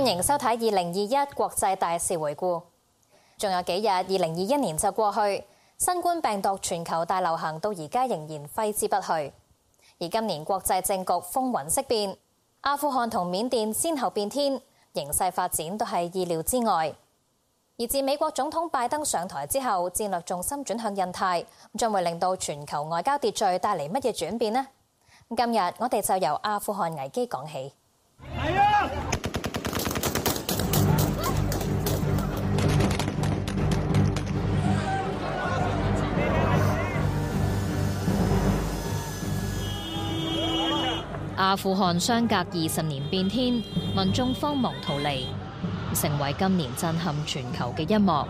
歡迎收睇2021國際大事回顧。仲有幾日，2021年就過去，新冠病毒全球大流行到而家仍然揮之不去。而今年國際政局風雲色變，阿富汗同緬甸先後變天，形勢發展都係意料之外。而自美國總統拜登上台之後，戰略重心轉向印太，將會令到全球外交秩序帶嚟乜嘢轉變呢？今日我哋就由阿富汗危機講起。阿富汗相隔20年變天，民眾慌忙逃離，成為今年震撼全球嘅一幕。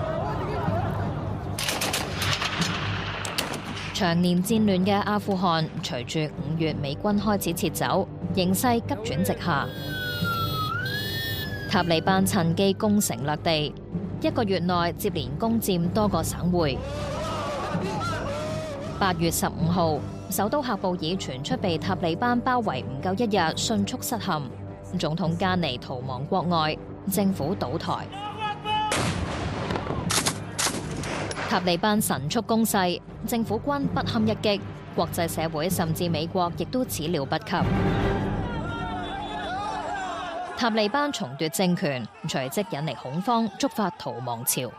長年戰亂嘅阿富汗，隨住5月美軍開始撤走，形勢急轉直下。塔利班趁機攻城略地，1個月內接連攻佔多個省會。8月15號，首都喀布爾傳出被塔利班包圍唔夠1日，迅速失陷，總統加尼逃亡國外，政府倒台。塔利班神速攻勢，政府軍不堪一擊，國際社會甚至美國亦都始料不及。塔利班重奪政權，隨即引嚟恐慌，觸發逃亡潮。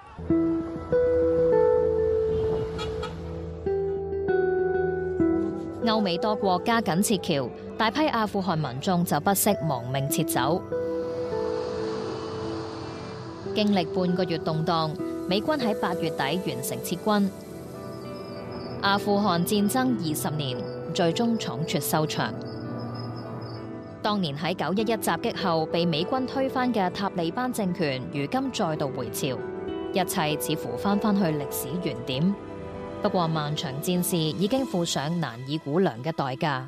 歐美多國加緊撤僑，大批阿富汗民眾就不惜亡命撤走。經歷半個月動盪，美軍喺8月底完成撤軍。阿富汗戰爭20年，最終倉促收場。當年喺911襲擊後被美軍推翻嘅塔利班政權，如今再度回潮，一切似乎返去歷史原點。不過漫長戰事已經付上難以估量嘅代價。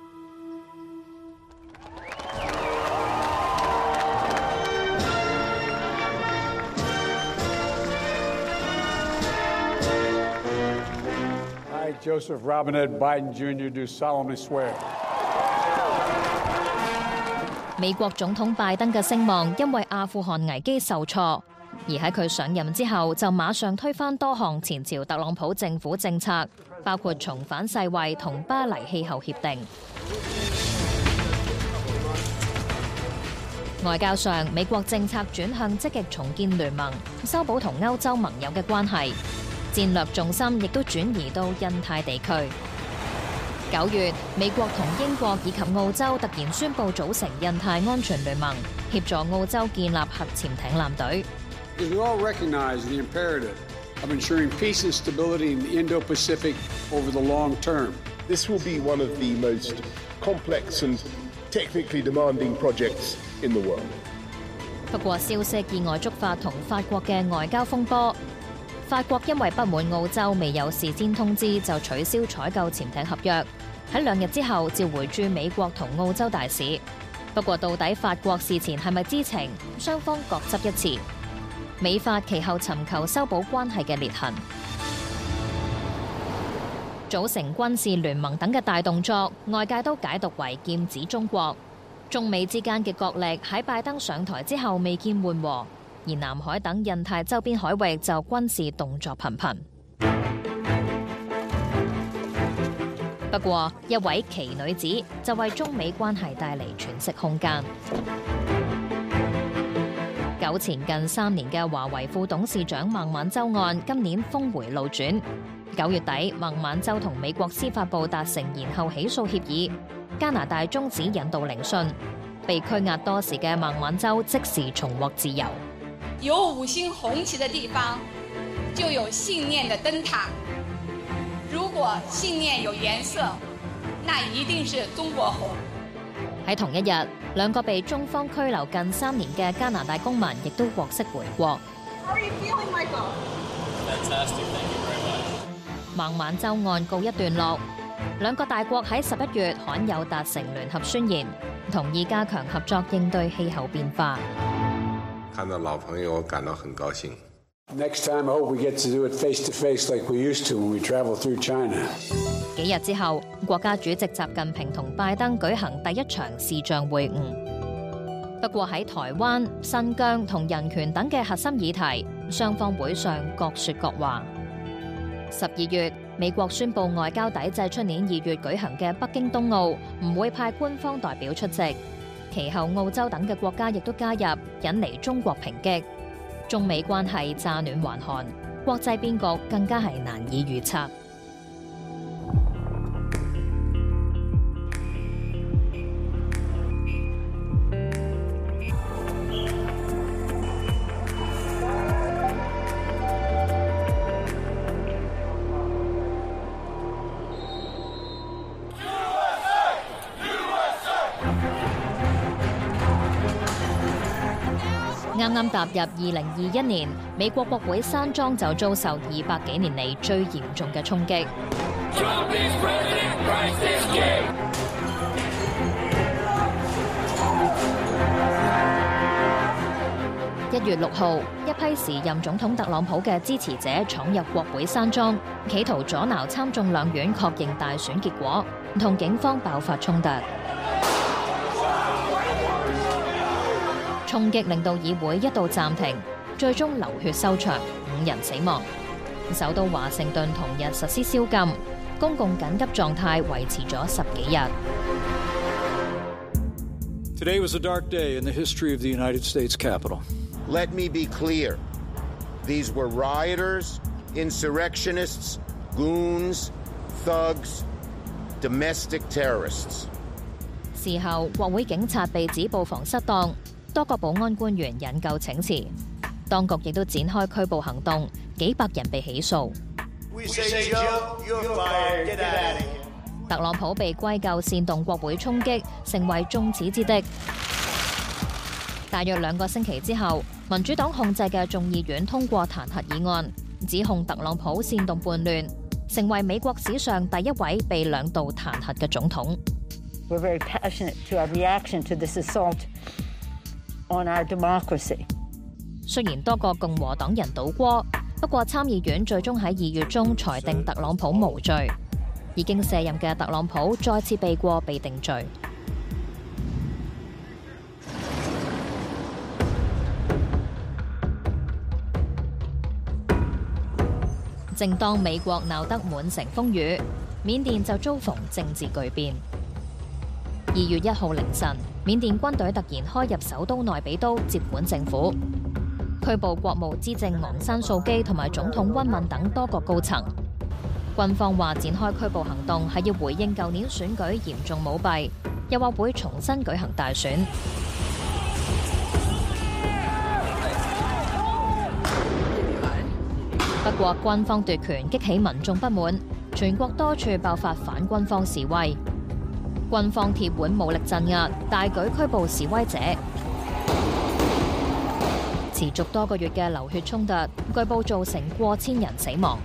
I, Joseph Robinette Biden Jr. do solemnly swear. 美國總統拜登嘅聲望因為阿富汗危機受挫。而喺佢上任之後，就馬上推翻多項前朝特朗普政府政策，包括重返世衛同巴黎氣候協定。外交上，美國政策轉向積極重建聯盟，修補同歐洲盟友嘅關係，戰略重心亦都轉移到印太地區。9月，美國同英國以及澳洲突然宣布組成印太安全聯盟，協助澳洲建立核潛艇艦隊。 We all recognize the imperative of ensuring peace and stability in the Indo-Pacific over the long term. This will be one of the most complex and technically demanding projects in the world. 不過消息意外觸發同法國嘅外交風波。法國因為不滿澳洲未有事先通知就取消採購潛艇合約，喺2日之後召回駐美國同澳洲大使。不過到底法國事前係咪知情？雙方各執一詞。美法其後尋求修補關係嘅裂痕，組成軍事聯盟等嘅大動作，外界都解讀為劍指中國。中美之間嘅角力喺拜登上台之後未見緩和，而南海等印太周邊海域就軍事動作頻頻。不過，一位奇女子就為中美關係帶嚟喘息空間。糾纏近3年嘅華為副董事長孟晚舟案，今年峰回路轉。9月底，孟晚舟同美國司法部達成延後起訴協議，加拿大終止引渡聆訊，被拘押多時嘅孟晚舟即時重獲自由。 有5星紅旗的地方，就有信念的燈塔。如果信念有顏色，那一定是中國紅。 喺同一日，2個被中方拘留近3年嘅加拿大公民亦都獲釋回國。孟晚舟案告一段落，2個大國喺11月罕有達成聯合宣言，同意加強合作應對氣候變化。 看到老朋友，我感到很高興。 Next time, I hope we get to do it face to face like we used to when we travel through China. 幾日之後，國家主席習近平同拜登舉行第1場視像會晤。 不過喺台灣、新疆同人權等嘅核心議題，雙方會上各說各話。12月，美國宣布外交抵制出年2月舉行嘅北京冬奧，唔會派官方代表出席。其後澳洲等嘅國家亦都加入，引嚟中國抨擊。中美關係乍暖還寒，國際變局更加係難以預測。啱啱踏入2021年，美國國會山莊就遭受200幾年嚟最嚴重嘅衝擊。1月6號，一批時任總統特朗普嘅支持者闖入國會山莊，企圖阻撓參眾兩院確認大選結果，同警方爆發衝突。衝擊令到議會一度暫停，最終流血收場，5人死亡。首都華盛頓同日實施宵禁，公共緊急狀態維持咗10幾日。 Today was a dark day in the history of the United States Capitol. Let me be clear. These were rioters, insurrectionists, goons, thugs, domestic terrorists. 事後，國會警察被指布防失當，多個保安官員引咎請辭，當局亦都展開拘捕行動，幾百人被起訴。特朗普被歸咎煽動國會衝擊，成為眾矢之的。大約2個星期之後，民主黨控制嘅眾議院通過彈劾議案，指控特朗普煽動叛亂，成為美國史上第一位被2度彈劾嘅總統。 We're very passionate to our reaction to this assault on our democracy. 雖然多個共和黨人倒戈，不過參議院最終喺2月中裁定特朗普無罪。已經卸任嘅特朗普再次避過被定罪。正當美國鬧得滿城風雨，緬甸就遭逢政治巨變。2月1號凌晨，緬甸軍隊突然開入首都內比都接管政府，拘捕國務資政昂山素基同埋總統溫敏等多個高層。軍方話展開拘捕行動係要回應舊年選舉嚴重舞弊，又話會重新舉行大選。不過軍方奪權激起民眾不滿，全國多處爆發反軍方示威，軍方鐵腕武力鎮壓，大舉拘捕示威者。持續多個月嘅流血衝突，據報造成過千人死亡。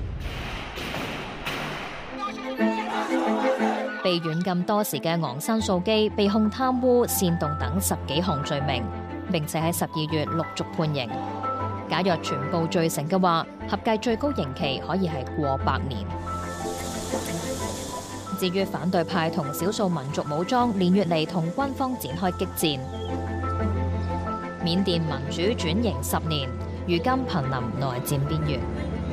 被軟禁多時嘅昂山素基被控貪污、煽動等10幾項罪名，並且喺12月陸續判刑。假若全部罪成嘅話，合計最高刑期可以係過100年。至於反對派同少數民族武裝連月嚟同軍方展開激戰。緬甸民主轉型10年，如今瀕臨內戰邊緣。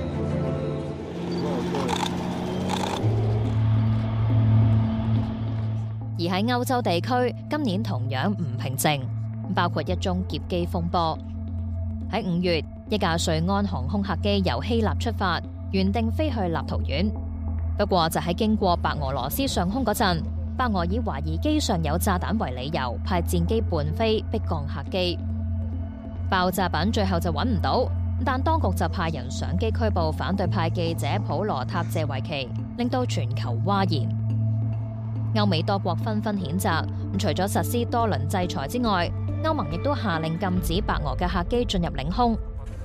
而喺歐洲地區，今年同樣唔平靜，包括一宗劫機風波。喺5月，一架瑞安航空客機由希臘出發，原定飛去立陶宛。不過就喺經過白俄羅斯上空嗰陣，白俄以懷疑機上有炸彈為理由，派戰機伴飛逼降客機。爆炸品最後就揾唔到，但當局就派人上機拘捕反對派記者普羅塔謝維奇，令到全球譁然。歐美多國紛紛譴責，除咗實施多輪制裁之外，歐盟亦都下令禁止白俄嘅客機進入領空。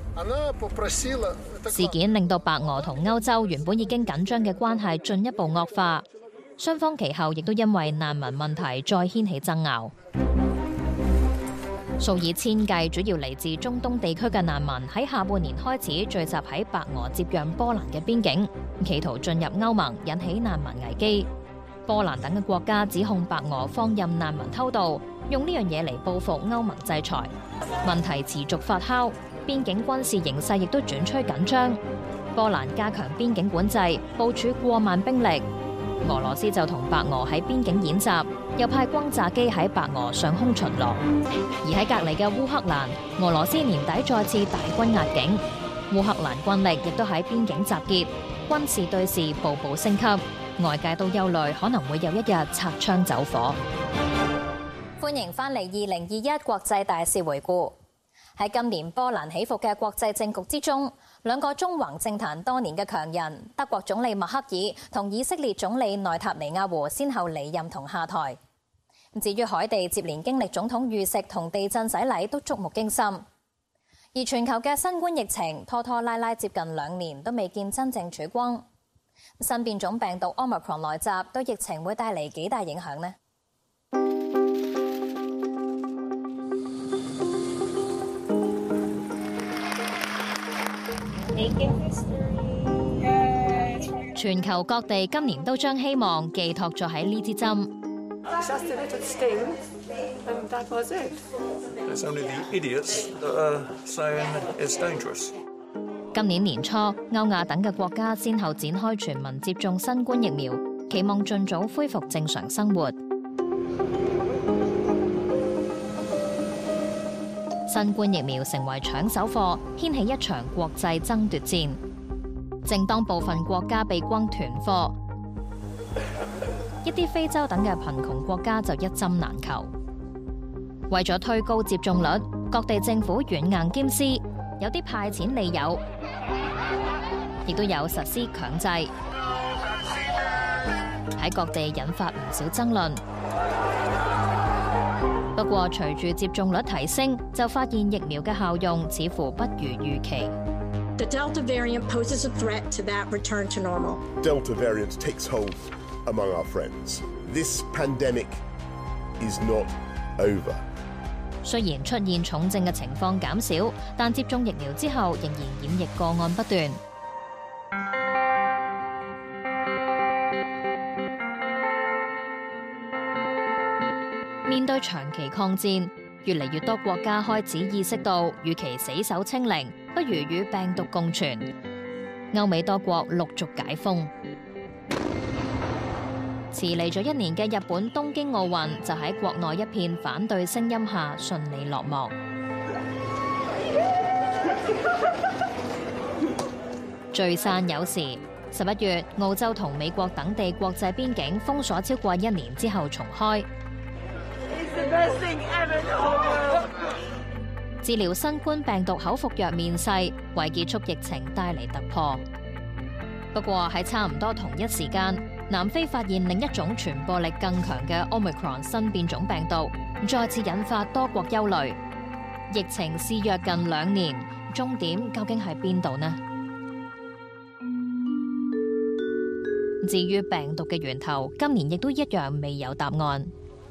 事件令到白俄同歐洲原本已經緊張嘅關係進一步惡化，雙方其後亦都因為難民問題再掀起爭拗。數以千計主要嚟自中東地區嘅難民喺下半年開始聚集喺白俄接壤波蘭嘅邊境，企圖進入歐盟，引起難民危機。 波蘭等嘅國家指控白俄放任難民偷渡，用呢樣嘢嚟報復歐盟制裁。問題持續發酵，邊境軍事形勢亦都轉趨緊張。波蘭加強邊境管制，部署過萬兵力。俄羅斯就同白俄喺邊境演習，又派轟炸機喺白俄上空巡邏。而喺隔離嘅烏克蘭，俄羅斯年底再次大軍壓境，烏克蘭軍力亦都喺邊境集結，軍事對峙步步升級。外界都憂慮可能會有一日擦槍走火。歡迎翻嚟2021國際大事回顧。喺今年波瀾起伏嘅國際政局之中，兩個縱橫政壇多年嘅強人，德國總理默克爾同以色列總理內塔尼亞胡先後離任同下台。至於海地接連經歷總統遇刺同地震洗禮，都觸目驚心。而全球嘅新冠疫情拖拖拉拉接近2年，都未見真正曙光。新變種病毒 Omicron 來襲，對疫情會帶嚟幾大影響呢？全球各地今年都將希望寄託咗喺呢支針。今年年初，歐亞等嘅國家先後展開全民接種新冠疫苗，期望盡早恢復正常生活。新冠疫苗成為搶手貨，掀起一場國際爭奪戰。正當部分國家被轟囤貨，一啲非洲等嘅貧窮國家就一針難求。為咗推高接種率，各地政府軟硬兼施，有啲派錢利誘，亦都有實施強制，喺各地引發唔少爭論。不過，隨住接種率提升，就發現疫苗嘅效用似乎不如預期。 The Delta variant poses a threat to that return to normal. Delta variant takes hold among our friends. This pandemic is not over. 雖然出現重症嘅情況減少，但接種疫苗之後仍然染疫個案不斷。面對長期抗戰，越嚟越多國家開始意識到，與其死守清零，不如與病毒共存。歐美多國陸續解封。遲嚟咗1年嘅日本東京奧運，就喺國內一片反對聲音下順利落幕。聚散有時，11月澳洲同美國等地國際邊境封鎖超過1年之後重開。治療新冠病毒口服藥面世，為結束疫情帶嚟突破。不過喺差唔多同一時間，南非發現另一種傳播力更強嘅 Omicron 新變種病毒，再次引發多國憂慮。疫情肆虐近2年，終點究竟喺邊度呢？至於病毒嘅源頭，今年亦都一樣未有答案。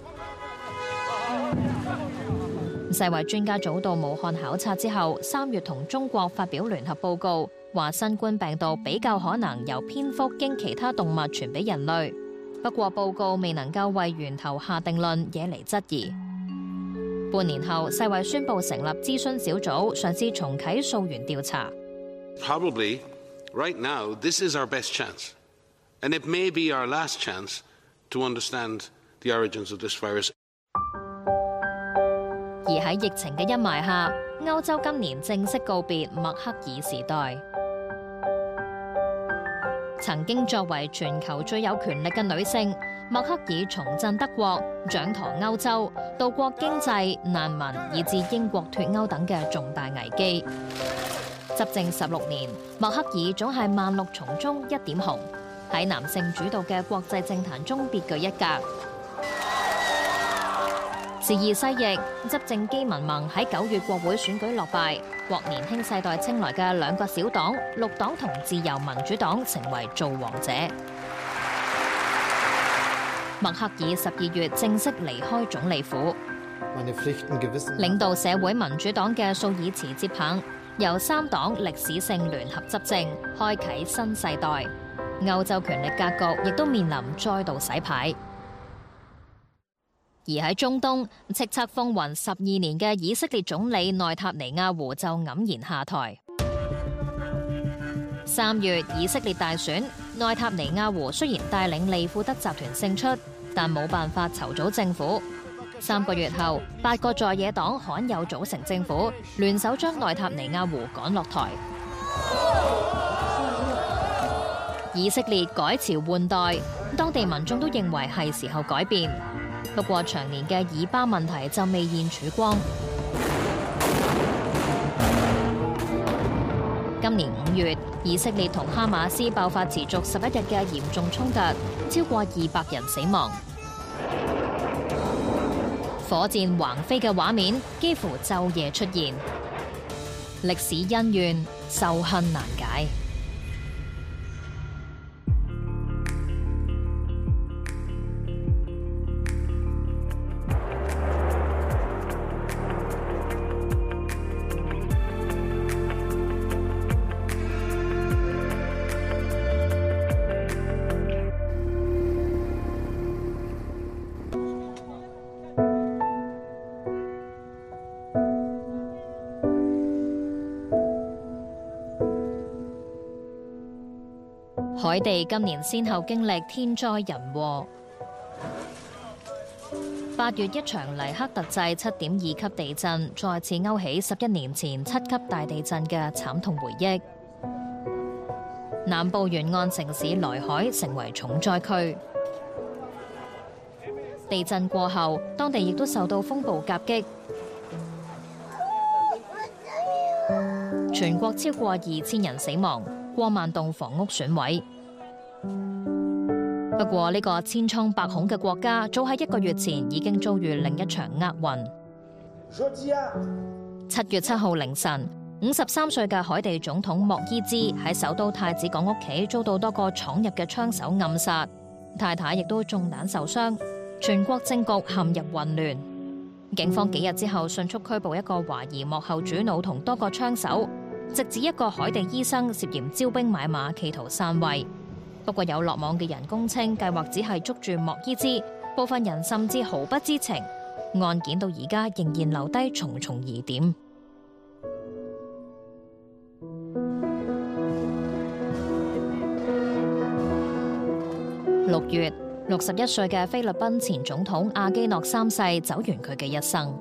世衛專家組到武漢考察之後，3月同中國發表聯合報告，話新冠病毒比較可能由蝙蝠經其他動物傳俾人類。不過報告未能夠為源頭下定論，惹嚟質疑。半年後，世衛宣布成立諮詢小組，嘗試重啟溯源調查。 Probably, right now, this is our best chance, and it may be our last chance to understand the origins of this virus. 而喺疫情嘅陰霾下，歐洲今年正式告別默克爾時代。曾經作為全球最有權力嘅女性，默克爾重振德國，掌舵歐洲，渡過經濟、難民以至英國脫歐等嘅重大危機。執政16年，默克爾總係萬綠叢中一點紅，喺男性主導嘅國際政壇中別具一格。時移世易，執政基民盟喺9月國會選舉落敗，獲年輕世代青睞嘅2個小黨綠黨同自由民主黨成為造王者。默克爾12月正式離開總理府，領導社會民主黨嘅舒爾茨接棒，由3黨歷史性聯合執政，開啟新世代。 歐洲權力格局亦都面臨再度洗牌。而喺中東，叱咤風雲12年嘅以色列總理內塔尼亞胡就黯然下台。3月以色列大選，內塔尼亞胡雖然帶領利庫德集團勝出，但冇辦法籌組政府。3個月後，8個在野黨罕有組成政府，聯手將內塔尼亞胡趕落台。以色列改朝換代，當地民眾都認為係時候改變。不過長年嘅以巴問題就未現曙光。今年5月，以色列同哈馬斯爆發持續11日嘅嚴重衝突，超過200人死亡。火箭橫飛嘅畫面幾乎晝夜出現，歷史恩怨，仇恨難解。海地今年先後經歷天災人禍。8月一場黎克特制7.2級地震，再次勾起11年前7級大地震嘅慘痛回憶。南部沿岸城市萊海成為重災區。地震過後，當地亦都受到風暴夾擊，全國超過2000人死亡，過萬棟房屋損毀。不過呢個千瘡百孔嘅國家，早喺1個月前已經遭遇另一場厄運。7月7號凌晨，53歲嘅海地總統莫伊茲喺首都太子港屋企遭到多個闖入嘅槍手暗殺，太太亦都中彈受傷，全國政局陷入混亂。警方幾日之後迅速拘捕一個懷疑幕後主腦同多個槍手，直指一個海地醫生涉嫌招兵買馬，企圖篡位。不過有落網嘅人供稱，計劃只係捉住莫伊茲，部分人甚至毫不知情。案件到而家仍然留低重重疑點。6月，61歲嘅菲律賓前總統阿基諾3世走完佢嘅一生。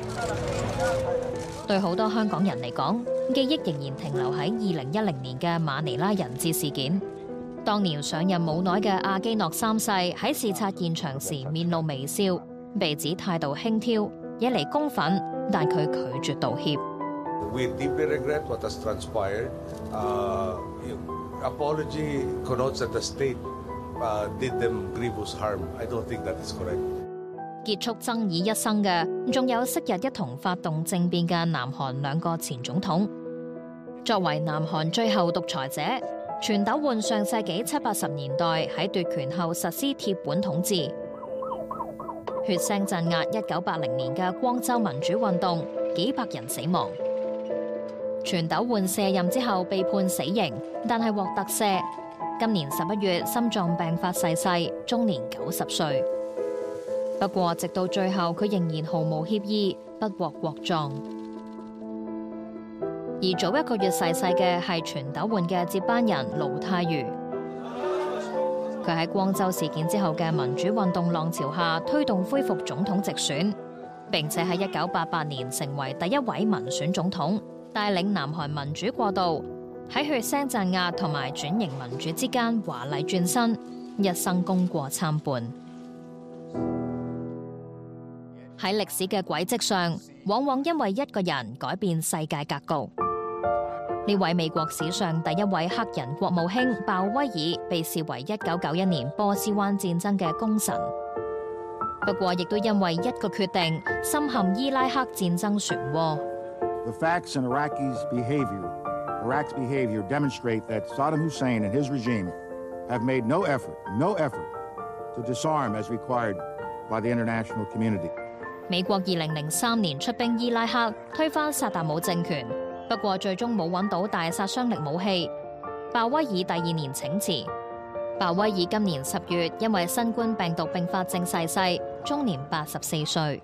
對好多香港人嚟講，記憶仍然停留喺2010年嘅馬尼拉人質事件。當年上任冇耐嘅阿基諾3世喺視察現場時面露微笑，被指態度輕佻，惹嚟公憤，但佢拒絕道歉。 We deeply regret what has transpired. Apology connotes that the state did them grievous harm. I don't think that is correct. 結束爭議一生嘅，仲有昔日一同發動政變嘅南韓2個前總統。作為南韓最後獨裁者，全斗煥上世紀70、80年代喺奪權後實施鐵腕統治，血腥鎮壓1980年嘅光州民主運動，幾百人死亡。全斗煥卸任之後被判死刑，但係獲特赦。今年11月心臟病發逝世，終年90歲。不過直到最後，佢仍然毫無歉意，不獲國葬。而早1個月逝世嘅係全斗煥嘅接班人盧泰愚。佢喺光州事件之後嘅民主運動浪潮下，推動恢復總統直選，並且喺1988年成為第一位民選總統，帶領南韓民主過渡，喺血腥鎮壓同埋轉型民主之間華麗轉身，一生功過參半。喺歷史嘅軌跡上，往往因為一個人改變世界格局。呢位美國史上第一位黑人國務卿鮑威爾被視為1991年波斯灣戰爭嘅功臣，不過亦都因為一個決定深陷伊拉克戰爭漩渦。 The facts in Iraq's behavior demonstrate that Saddam Hussein and his regime have made no effort to disarm as required by the international community. 美國2003年出兵伊拉克推翻薩達姆政權。不過最終冇揾到大殺傷力武器。鮑威爾第2年請辭， 鮑威爾今年10月因為新冠病毒併發症逝世，終年84歲。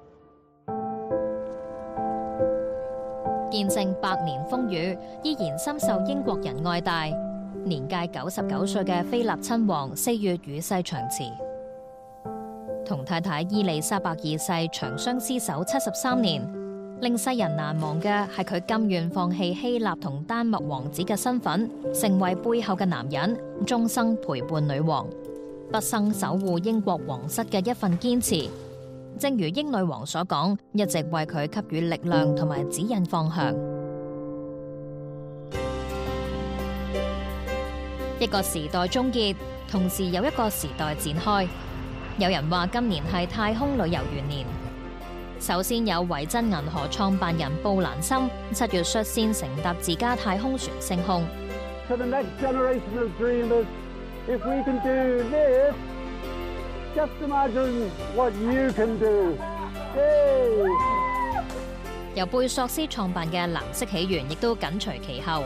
見證百年風雨，依然深受英國人愛戴。年屆99歲嘅菲臘親王4月與世長辭，同太太伊麗莎白二世長相廝守73年。令世人難忘嘅係佢甘願放棄希臘同丹麥王子嘅身份，成為背後嘅男人，終生陪伴女王，畢生守護英國皇室嘅一份堅持。正如英女王所講，一直為佢給予力量同埋指引方向。一個時代終結，同時有一個時代展開。有人話今年係太空旅遊元年。首先有維珍銀河創辦人布蘭森7月率先乘搭自家太空船升空。 To the next generation of dreamers, if we can do this, just imagine what you can do. Yay! 由貝索斯創辦嘅藍色起源亦都緊隨其後。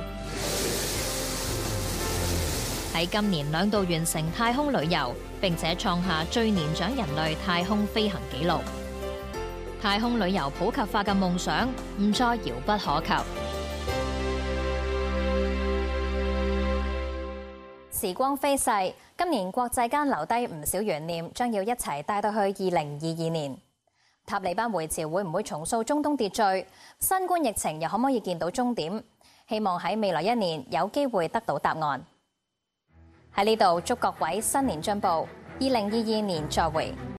喺今年2度完成太空旅遊，並且創下最年長人類太空飛行紀錄。太空旅遊普及化嘅夢想唔再遙不可及。時光飛逝，今年國際間留低唔少懸念，將要一齊帶到去2022年。塔利班回朝會唔會重塑中東秩序？新冠疫情又可唔可以見到終點？希望喺未來1年有機會得到答案。喺呢度祝各位新年進步，2022年再會。